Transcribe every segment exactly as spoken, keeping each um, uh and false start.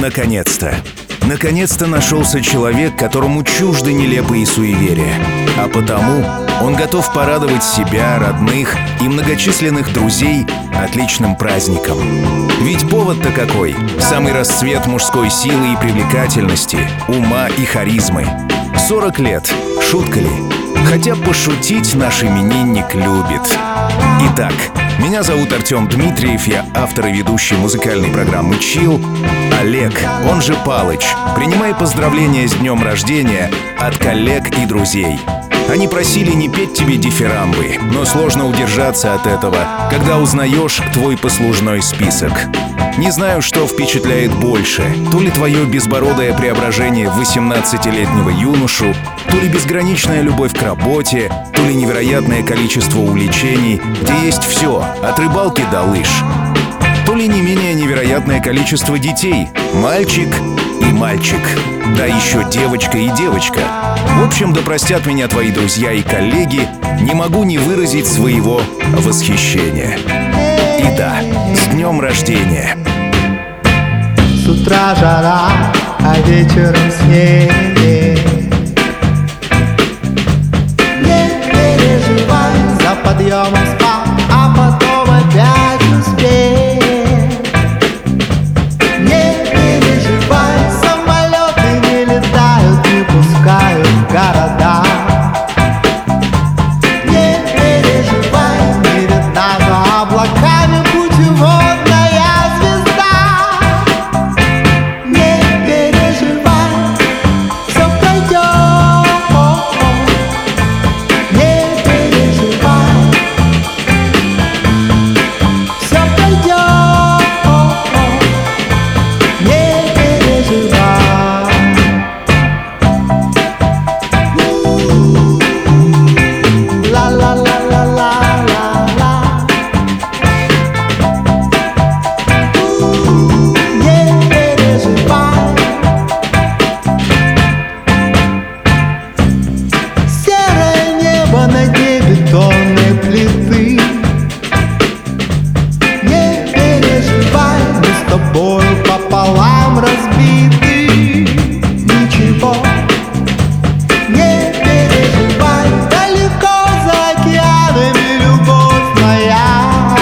Наконец-то! Наконец-то нашелся человек, которому чужды нелепые суеверия. А потому он готов порадовать себя, родных и многочисленных друзей отличным праздником. Ведь повод-то какой? Самый расцвет мужской силы и привлекательности, ума и харизмы. сорок лет. Шутка ли? Хотя пошутить наш именинник любит. Итак, меня зовут Артем Дмитриев, я автор и ведущий музыкальной программы «Чилл». Олег, он же Палыч, принимай поздравления с днем рождения от коллег и друзей. Они просили не петь тебе дифирамбы, но сложно удержаться от этого, когда узнаешь твой послужной список. Не знаю, что впечатляет больше, то ли твое безбородое преображение в восемнадцатилетнего юношу, то ли безграничная любовь к работе, то ли невероятное количество увлечений, где есть все, от рыбалки до лыж. То ли не менее невероятное количество детей, мальчик и мальчик, да еще девочка и девочка. В общем, да простят меня твои друзья и коллеги, не могу не выразить своего восхищения. И да, с днем рождения! С утра жара, а вечером снег. Не переживай, за подъемом спал, а потом опять успех. Не переживай, самолеты не летают, не пускают в города. Не переживай, не видна за облаками путеводная звезда. Не переживай, все пройдет. Не переживай, все пройдет. Не переживай. Ла-ла-ла-ла-ла-ла-ла. Не переживай. Серое небо на дне бетонной плиты. Не переживай, мы с тобою пополам разбиты. Ничего, не переживай, далеко за океанами, любовь моя.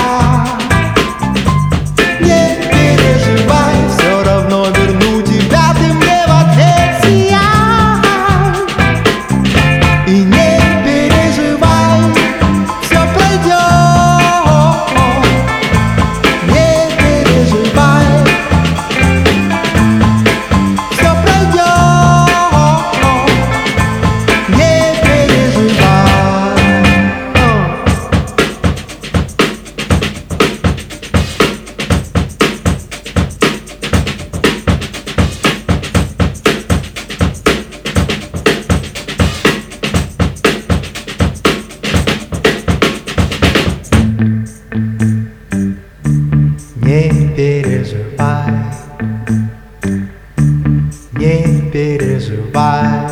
Не переживай, все равно верну тебя, ты мне в ответ сияй. И не переживай, все пройдет. Не переживай, все пройдет. Не переживай. Не переживай, не переживай,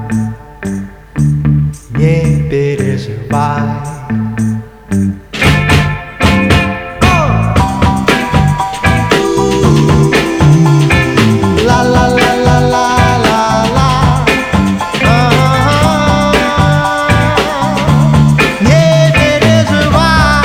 не переживай. Ла-ла-ла-ла-ла-ла-ла. Не переживай.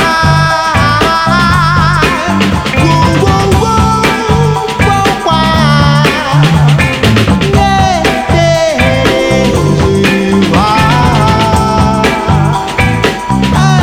Не переживай.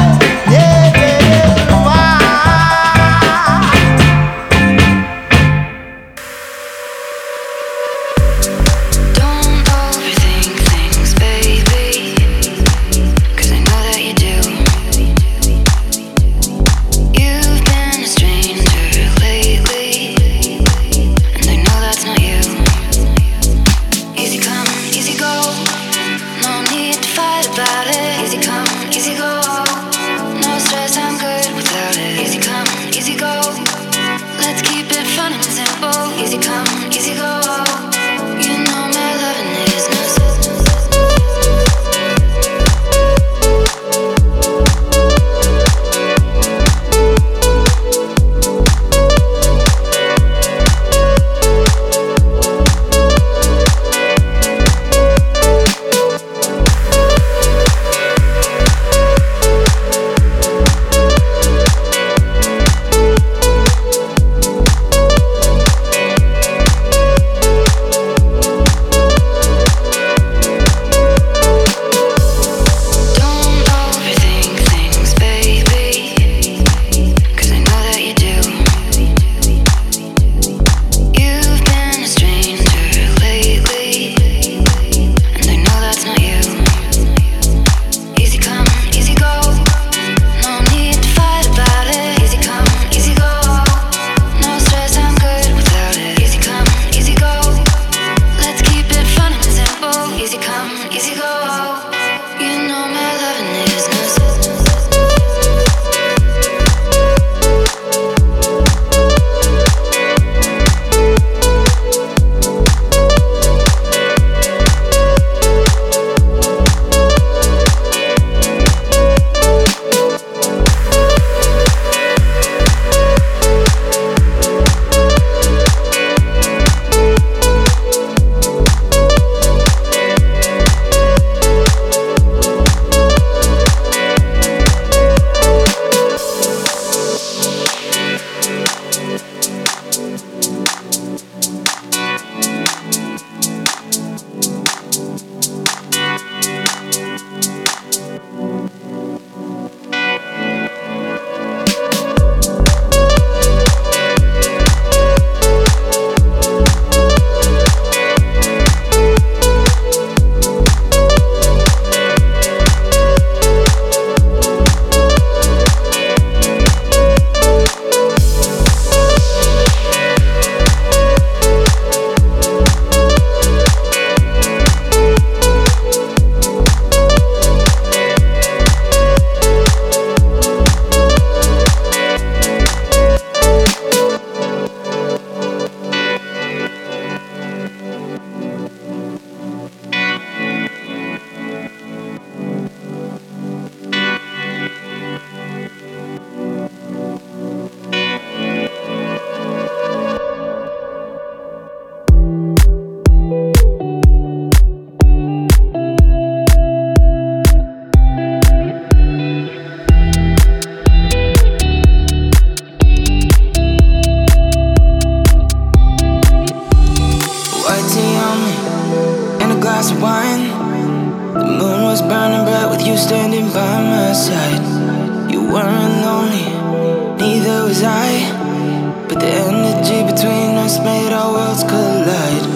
side. You weren't lonely, neither was I, but the energy between us made our worlds collide.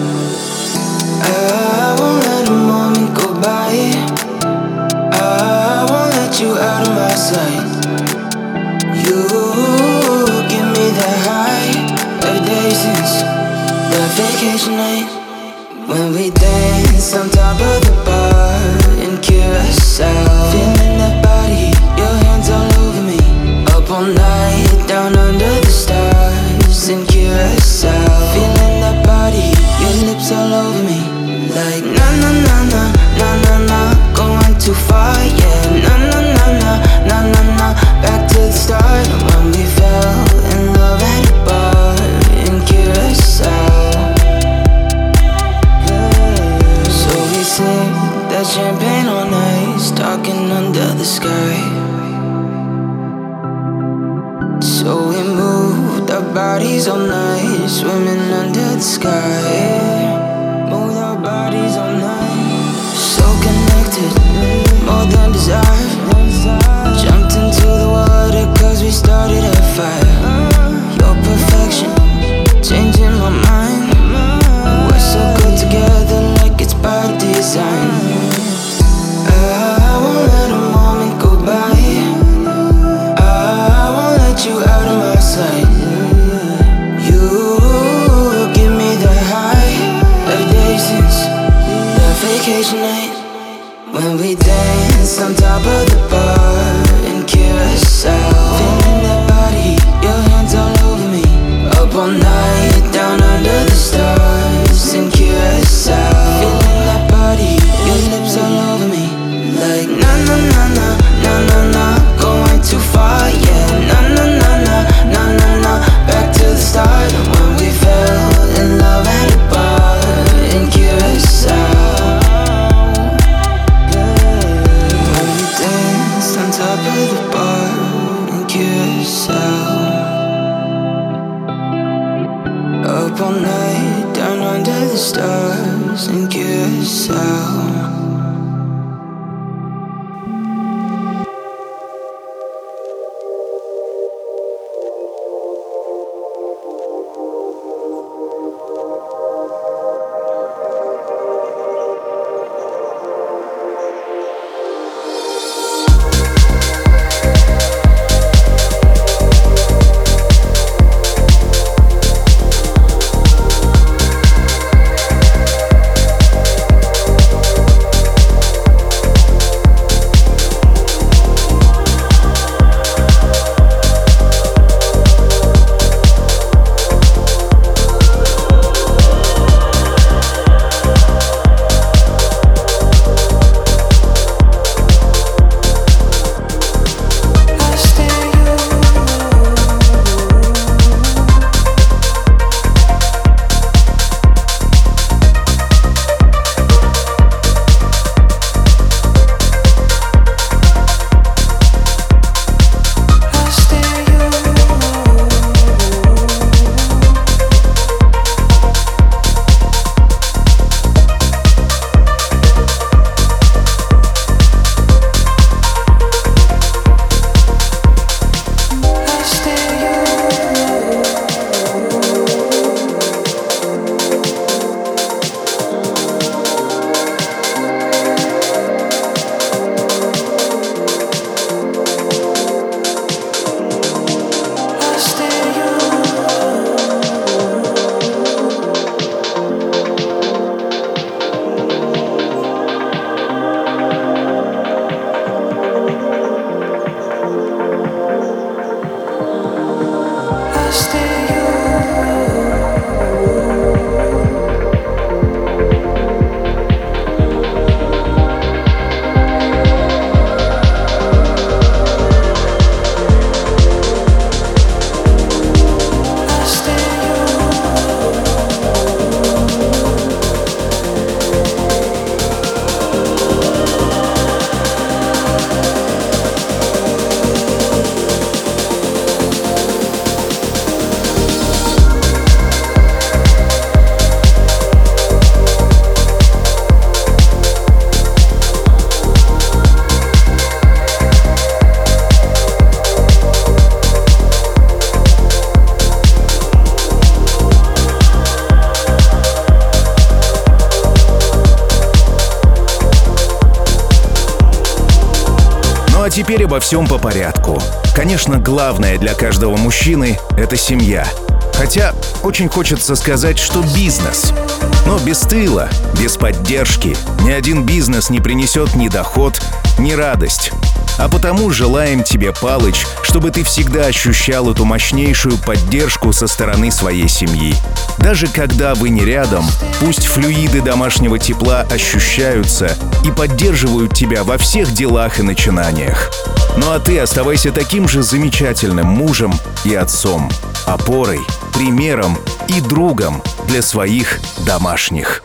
I won't let a moment go by. I won't let you out of my sight. You give me the high every day since that vacation night when we danced on top of the bar in Curacao. Feeling that body, your hands all over me. Up all night, down under the stars in Curacao. Feeling that body, your lips all over me. Like na na na na na na na, going too far, yeah. Na na na na na na na, back to the start when we fell in love at a bar in Curacao. So we sip that champagne on ice, talking under the sky. So we moved our bodies all night, swimming under the sky. Move our bodies all night. So connected, more than desire. Jumped into the water cause we started a fire. Your perfection, changing my mind. We're so good together like it's by design. I won't let a moment go by. I won't let you out of my sight. You give me the high а теперь обо всем по порядку. Конечно, главное для каждого мужчины — это семья. Хотя очень хочется сказать, что бизнес. Но без тыла, без поддержки ни один бизнес не принесет ни доход, ни радость. А потому желаем тебе, Палыч, чтобы ты всегда ощущал эту мощнейшую поддержку со стороны своей семьи. Даже когда вы не рядом, пусть флюиды домашнего тепла ощущаются и поддерживают тебя во всех делах и начинаниях. Ну а ты оставайся таким же замечательным мужем и отцом, опорой, примером и другом для своих домашних.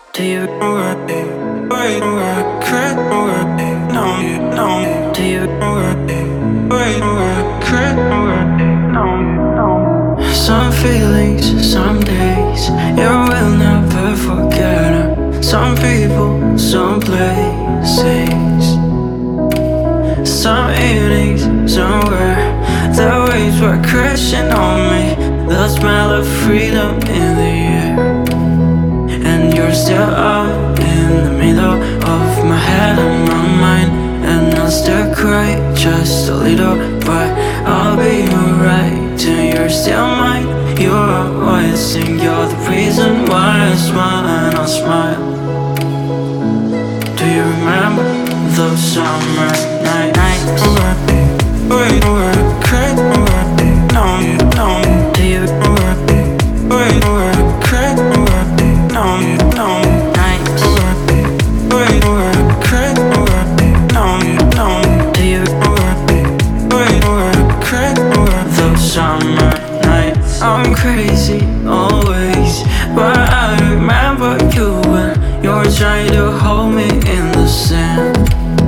Some feelings, some days, you will never forget them. Some people, some places, some evenings, somewhere. The waves were crashing on me, the smell of freedom in the air. And you're still up in the middle of my head and my mind. And I'll still cry just a little, but I'll be alright. And you're still mine, you're always, and you're the reason why I smile and I smile. Do you remember those summer nights? Wait, wait, crazy. No, no. Do you wait, wait, crazy. No, no. Nights. Wait, wait, crazy. No, no. Do you wait, wait, crazy. Those summer nights. I'm crazy always, but I remember you when you were trying to hold me in the sand.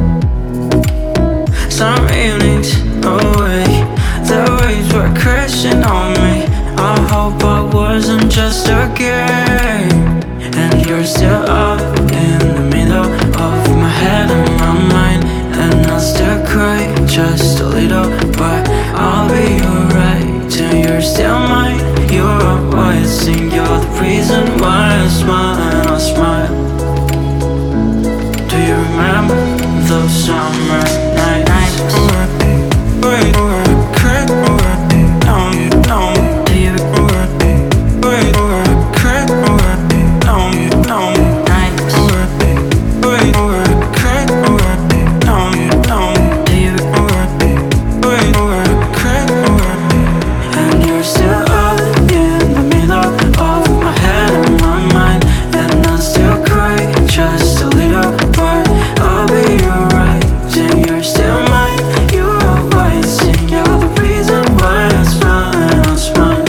Some evenings away, the waves were crashing on me. I hope I wasn't just a game. And you're still up in the middle of my head and my mind. And I'll still cry just a little, but I'll be alright. And you're still mine, you're always, and you're the reason why I smile and I smile. Do you remember those summer nights? Wait, wait, crazy. No, no. Do you wait, wait, crazy. No, no. Nights. Wait, wait, crazy. No, no. Do you wait, wait, crazy. And you're still up in the middle of my head and my mind. And I'll still cry just a little, but I'll be alright. And you're still mine, you're always, and you're the reason why I smile and I smile.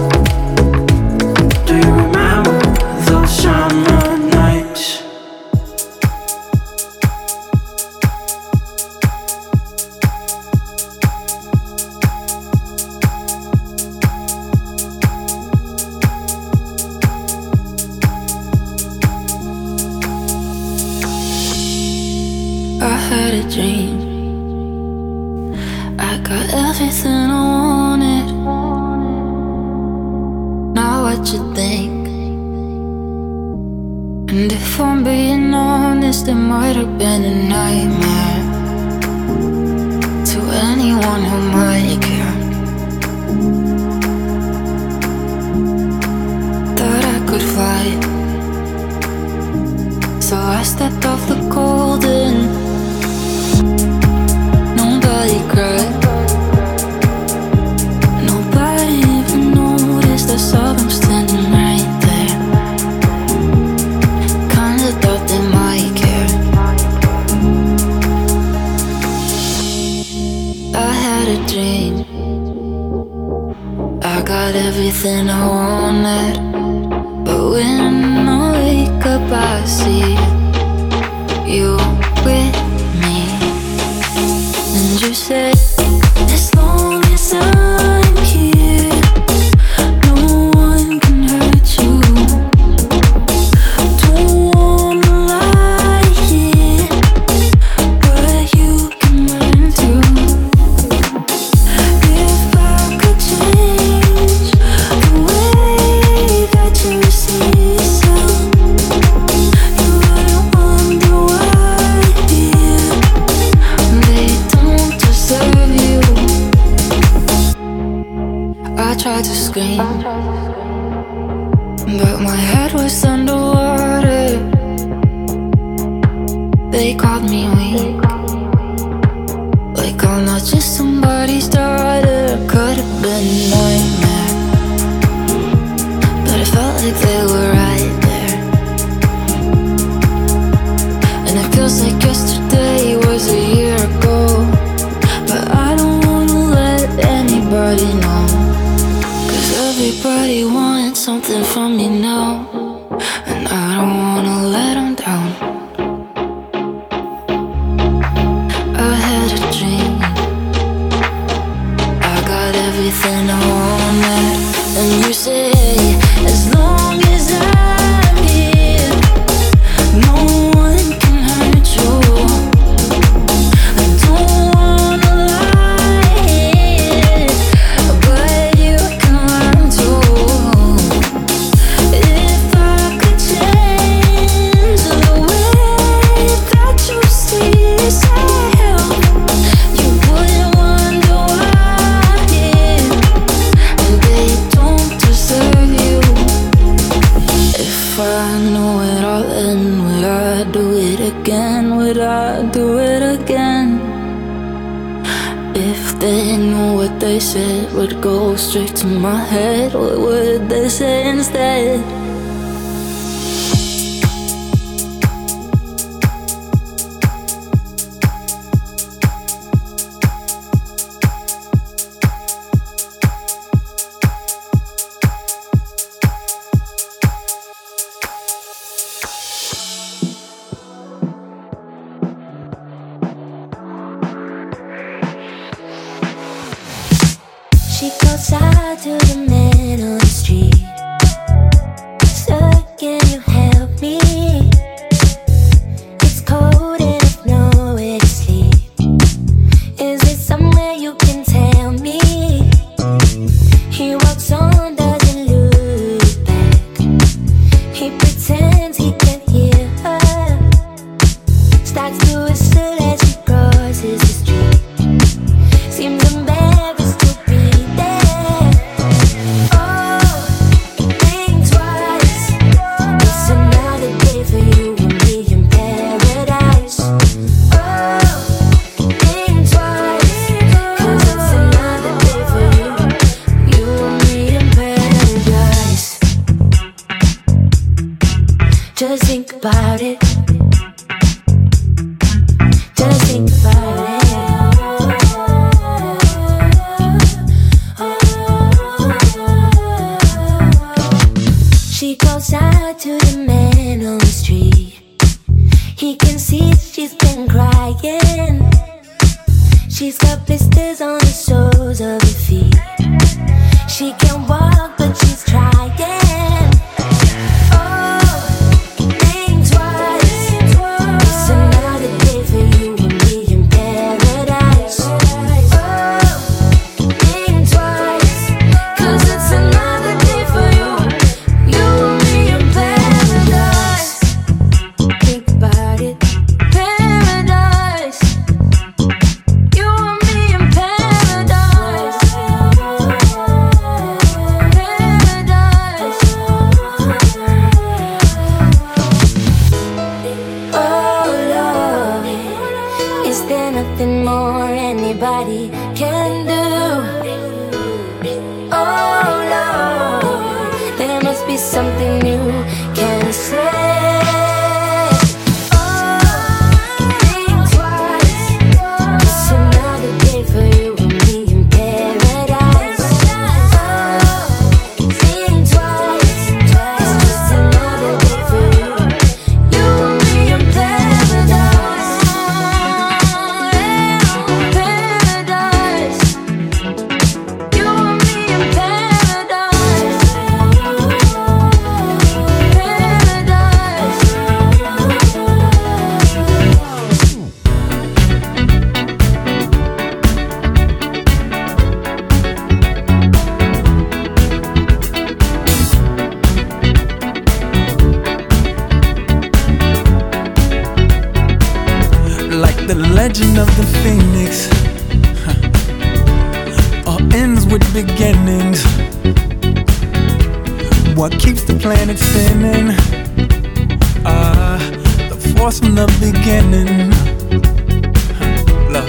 Do you remember those summer nights? I had a dream. I got everything I wanted. Now what you think? And if I'm being honest, it might have been a nightmare to anyone who might care. Thought I could fight, so I stepped off the golden. Nobody cried, nobody even noticed. I saw them standing right there. Kinda thought they might care. I had a dream, I got everything I wanted. But when I wake up I see you with me. And you say, as long as I'm here, no one can hurt you. Don't wanna lie here, but you can learn to. If I could change the way that you see yourself, you wouldn't wonder why, yeah. They don't tried to scream, but my head was underwater. They called me weak, like I'm not just somebody's daughter. Could have been a nightmare, but it felt like they were right there. And it feels like yesterday was a year ago, but I don't wanna let anybody know, 'cause everybody wants something from me now, and I don't wanna let them down. I had a dream, I got everything I wanted, and you say, as long as I'm here, no one can hurt you. I don't wanna lie, but you can learn to. If I could change the way that you see yourself, you wouldn't wonder why, and they don't deserve you. If I knew it all, then would I do it again? Would I do it again? If they knew what they said would go straight to my head, what would they say instead? She goes out to the man on the street. Sir, can you help me? It's cold and I've nowhere to sleep. Is it somewhere you can tell me? He walks on, doesn't look back. He pretends he can't hear her. Starts to whistle as he crosses the street. Seems embarrassed to be there. Oh, think twice. It's another day for you and me in paradise. Oh, think twice, 'cause it's another day for you, you and me in paradise. Just think about it. Just think about it. She goes out to the man on the street. He can see she's been crying. She's got blisters on the soles of her feet. She can't walk, but she's trying. Oh, think twice. It's another day for you and me in paradise. Oh, think twice, 'cause it's another day for you, you and me in paradise. Think about it, paradise. You and me in paradise. Paradise. Oh Lord, is there nothing more anybody can do? Oh Lord, there must be something you can say. Oh, think twice. It's another day for you and me in paradise. Oh, think twice. It's just another day for you, you and me in paradise. Paradise. You and me in paradise. Like the legend of the phoenix, huh. All ends with beginnings. What keeps the planet spinning? Ah, uh, the force from the beginning. Love.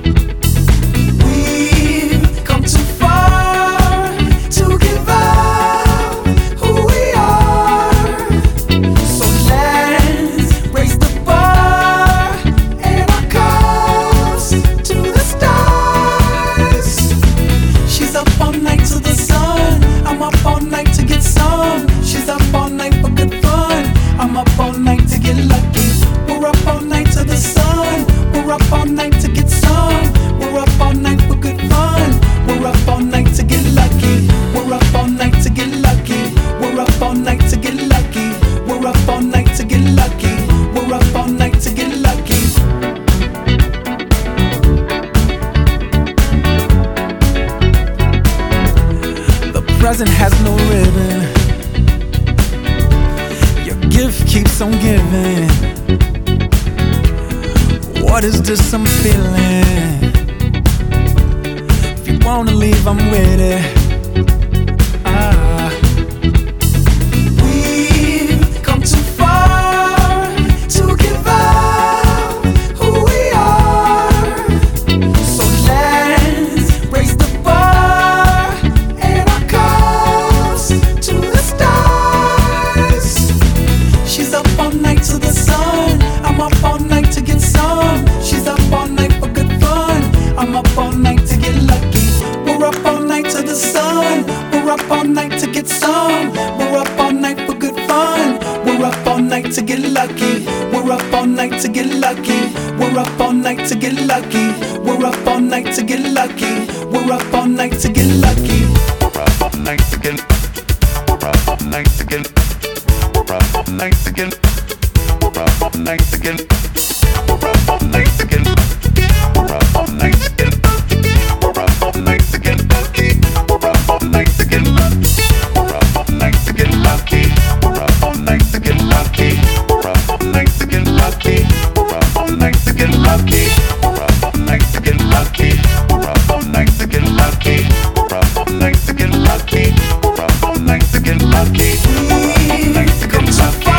We've come too far to give up who we are. So let's raise the bar and our cups to the stars. She's up all night to the sun. I'm up all night to get some. She's up all night for good fun. I'm up all night to get lucky. We're up all night to the sun. We're up all night to get some. We're up all night for good fun. We're up all night to get lucky. We're up all night to get lucky. We're up all night to get lucky. We're up all night to get lucky. We're up all night to get lucky. The present has no ribbon. Your gift keeps on giving. What is this I'm feeling? If you wanna leave, I'm with it. Ah. We've come too far to give up who we are. So let's raise the bar and our cups to the stars. She's up all night to the sun. I'm up all night to get some. She's up all night for good fun. I'm up all night to get lucky. We're up all night to the sun. We're up all night to get some. We're up all night for good fun. We're up all night to get lucky. We're up all night to get lucky. We're up all night to get lucky. We're up all night to get lucky. We're up all night to get lucky. We're up all night to get. We're up all night to get. We're up all night to get. We're up all night to get. We're up all night to get. We're up all night to get. We're up all night to get lucky. We're up all night to get lucky. We're up all night to get lucky. We're up all night to get lucky. We're up all night to get lucky. We're up all night to get lucky. We're up all night to get lucky. We're up all night to get lucky. We're up all night to get lucky. We're up all night to get lucky. We're up all night to get lucky.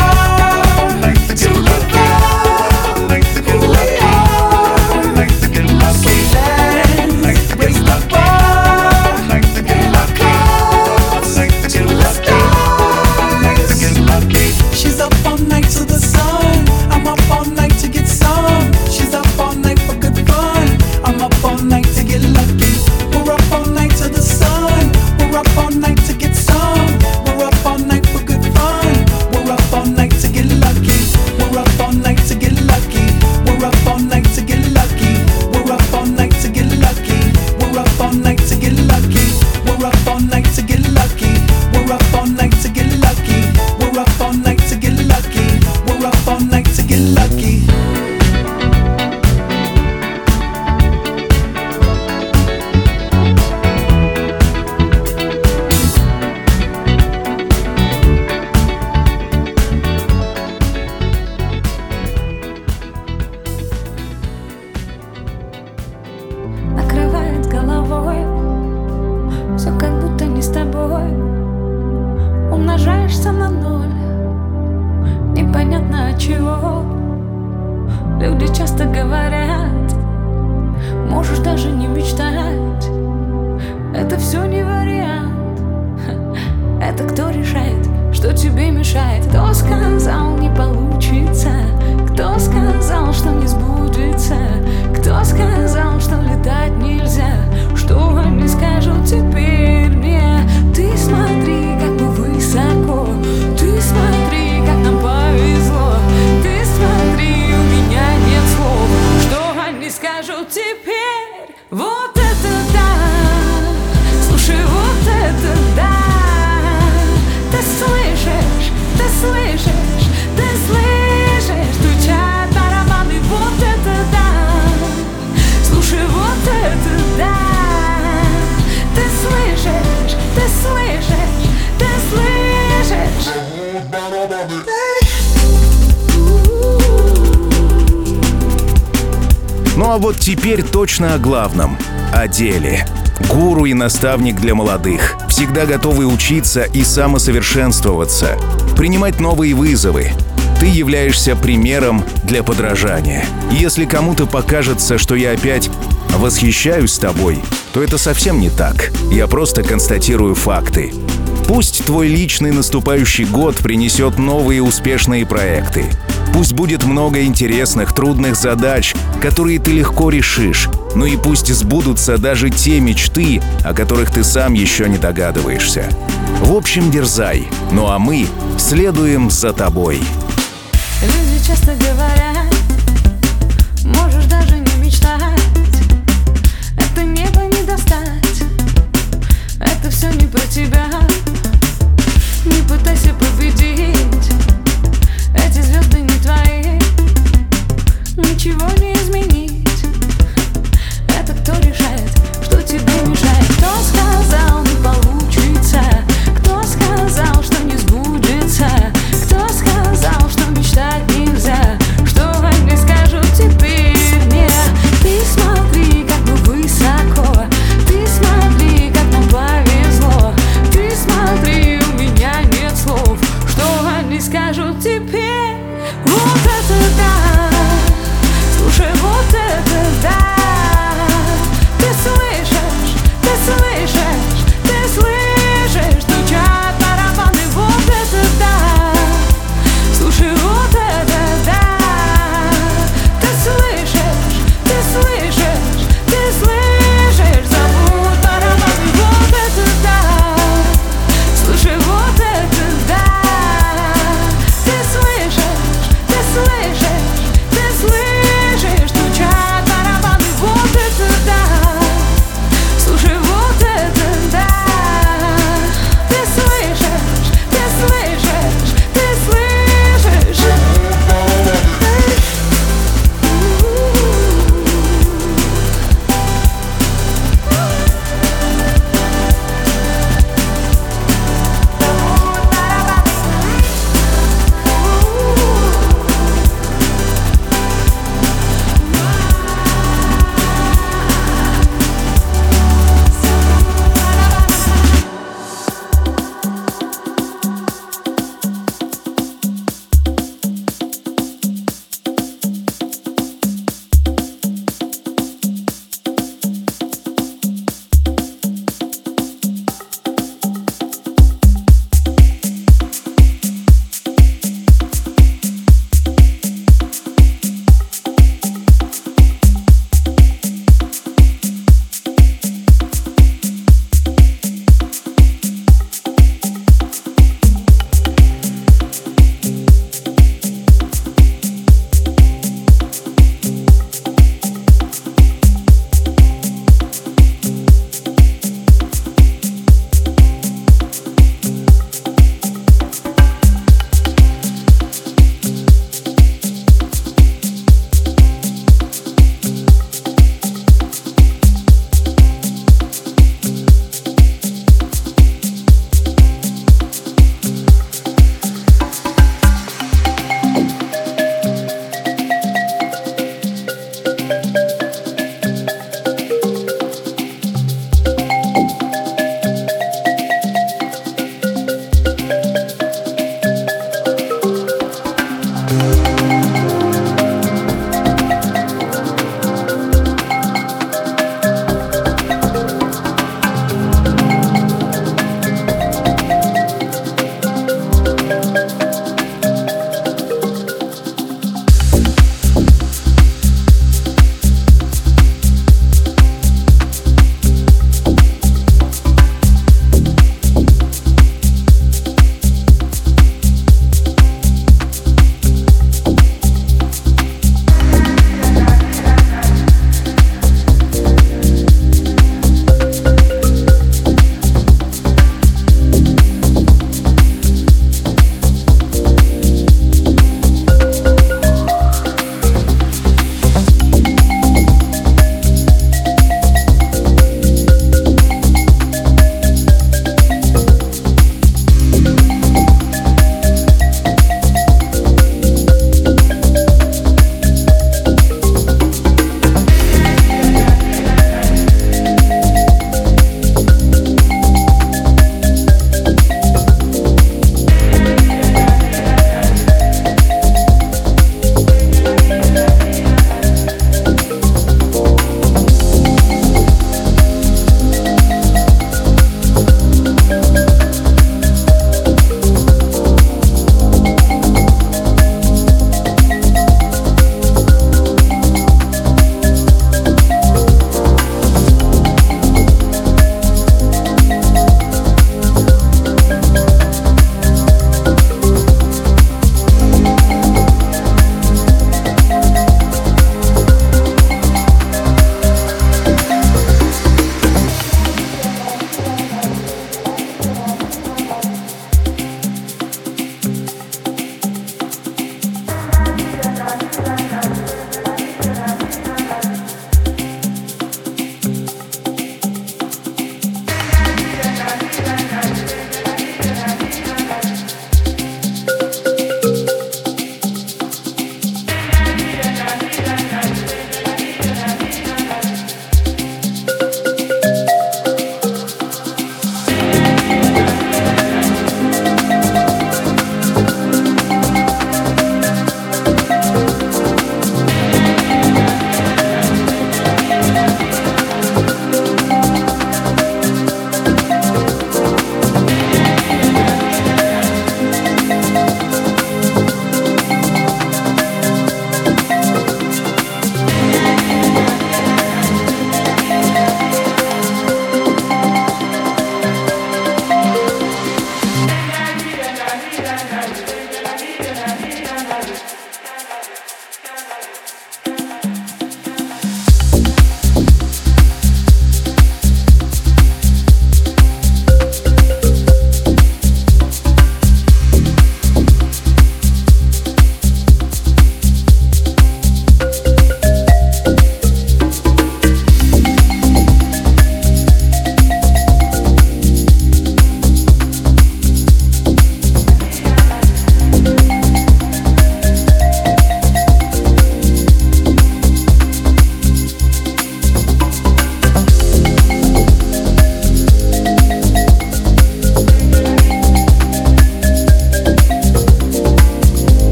Ну а вот теперь точно о главном — о деле. Гуру и наставник для молодых, всегда готовый учиться и самосовершенствоваться, принимать новые вызовы. Ты являешься примером для подражания. И если кому-то покажется, что я опять восхищаюсь тобой, то это совсем не так. Я просто констатирую факты. Пусть твой личный наступающий год принесет новые успешные проекты. Пусть будет много интересных, трудных задач, которые ты легко решишь. Ну и пусть сбудутся даже те мечты, о которых ты сам еще не догадываешься. В общем, дерзай. Ну а мы следуем за тобой. Люди часто говорят, можешь даже не мечтать. Это небо не достать. Это все не про тебя. Не пытайся победить. Эти звезды не твои. Ничего не изменить. Это кто решает, что тебе мешает? Кто сказал, не получится? Кто сказал, что не сбудется? Кто сказал, что мечтать нельзя?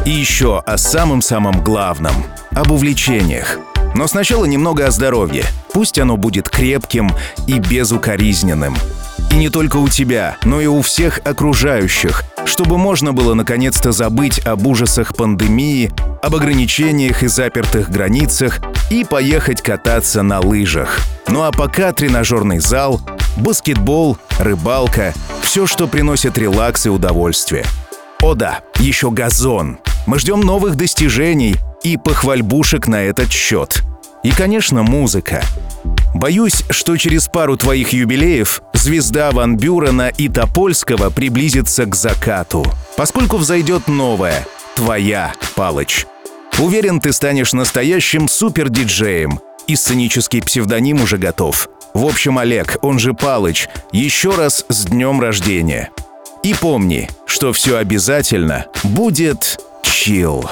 И еще о самом-самом главном – об увлечениях. Но сначала немного о здоровье. Пусть оно будет крепким и безукоризненным. И не только у тебя, но и у всех окружающих, чтобы можно было наконец-то забыть об ужасах пандемии, об ограничениях и запертых границах и поехать кататься на лыжах. Ну а пока тренажерный зал, баскетбол, рыбалка – все, что приносит релакс и удовольствие. О да, еще газон. Мы ждем новых достижений и похвальбушек на этот счет. И, конечно, музыка. Боюсь, что через пару твоих юбилеев звезда Ван Бюрена и Топольского приблизится к закату, поскольку взойдет новая, твоя, Палыч. Уверен, ты станешь настоящим супер-диджеем, и сценический псевдоним уже готов. В общем, Олег, он же Палыч, еще раз с днем рождения. И помни, что все обязательно будет чилл.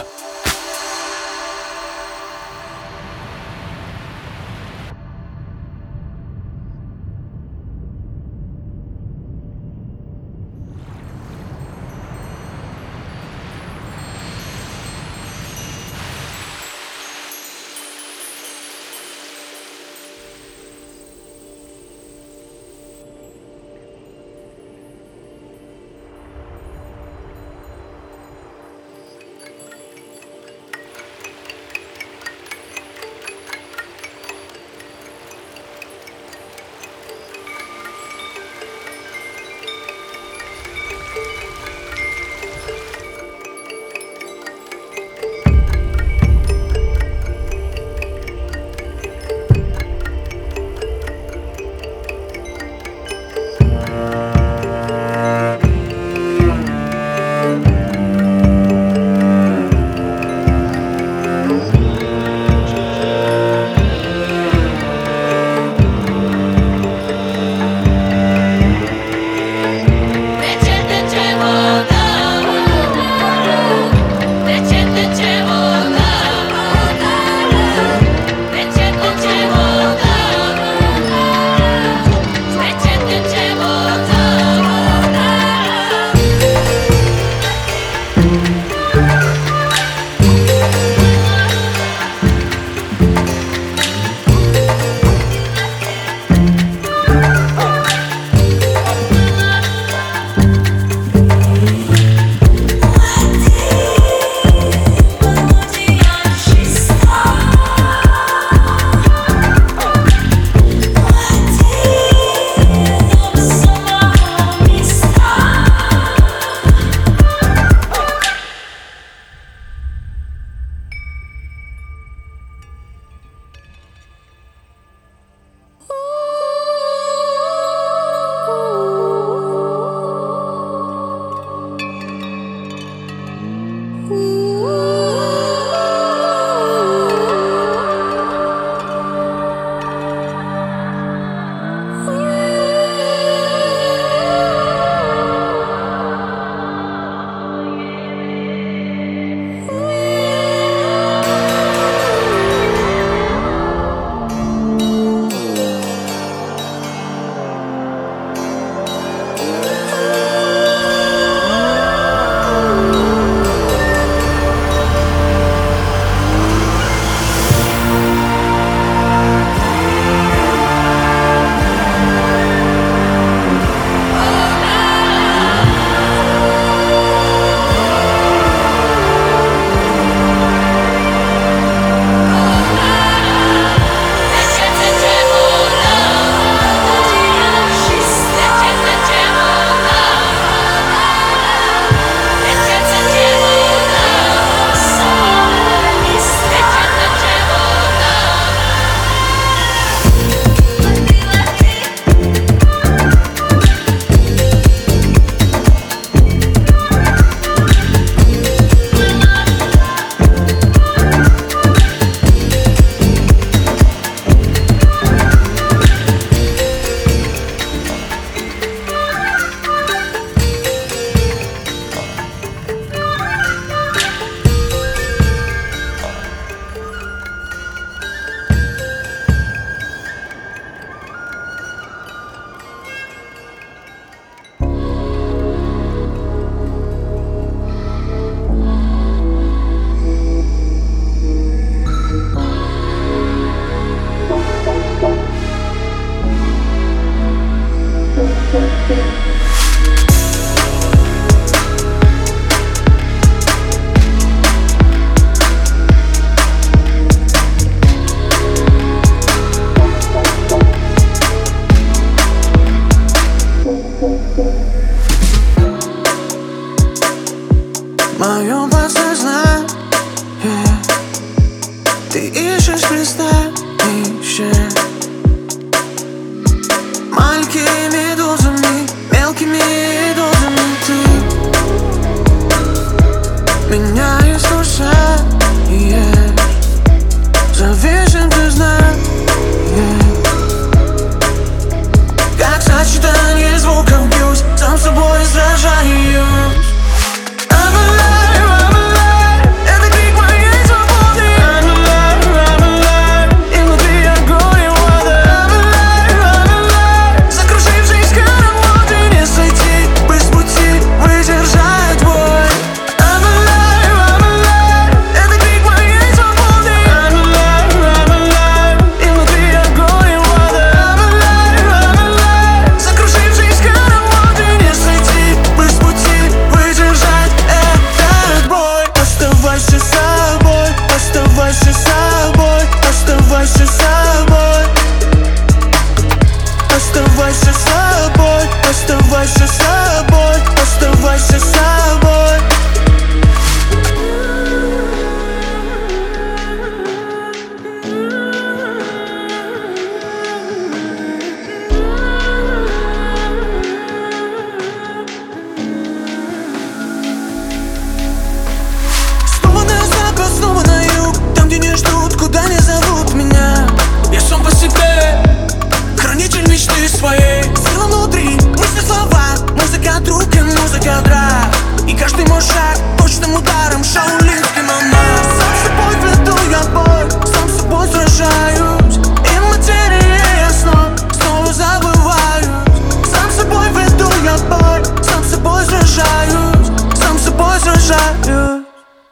я драйв, и каждый мой шаг точным ударом шаолинский манер. Сам с собой веду я бой, сам с собой сражаюсь, и в материи я снова, снова забываюсь. Сам с собой веду я бой, сам с собой сражаюсь, сам с собой сражаюсь.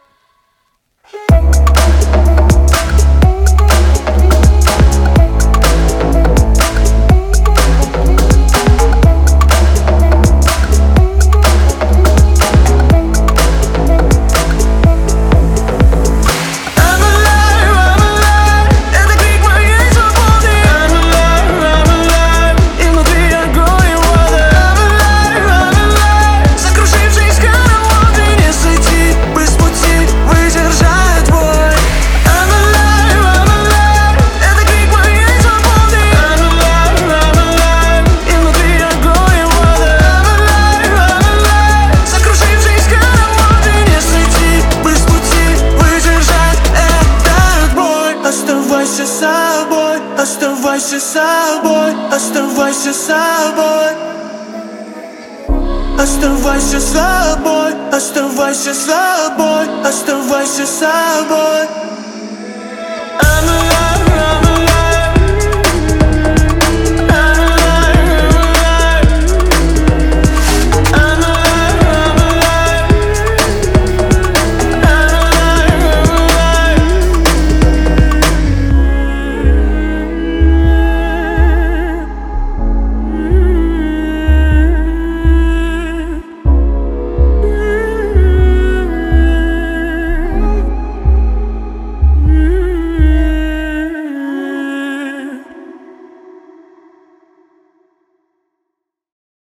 Оставайся собой, оставайся собой. Оставайся собой, оставайся собой, оставайся собой.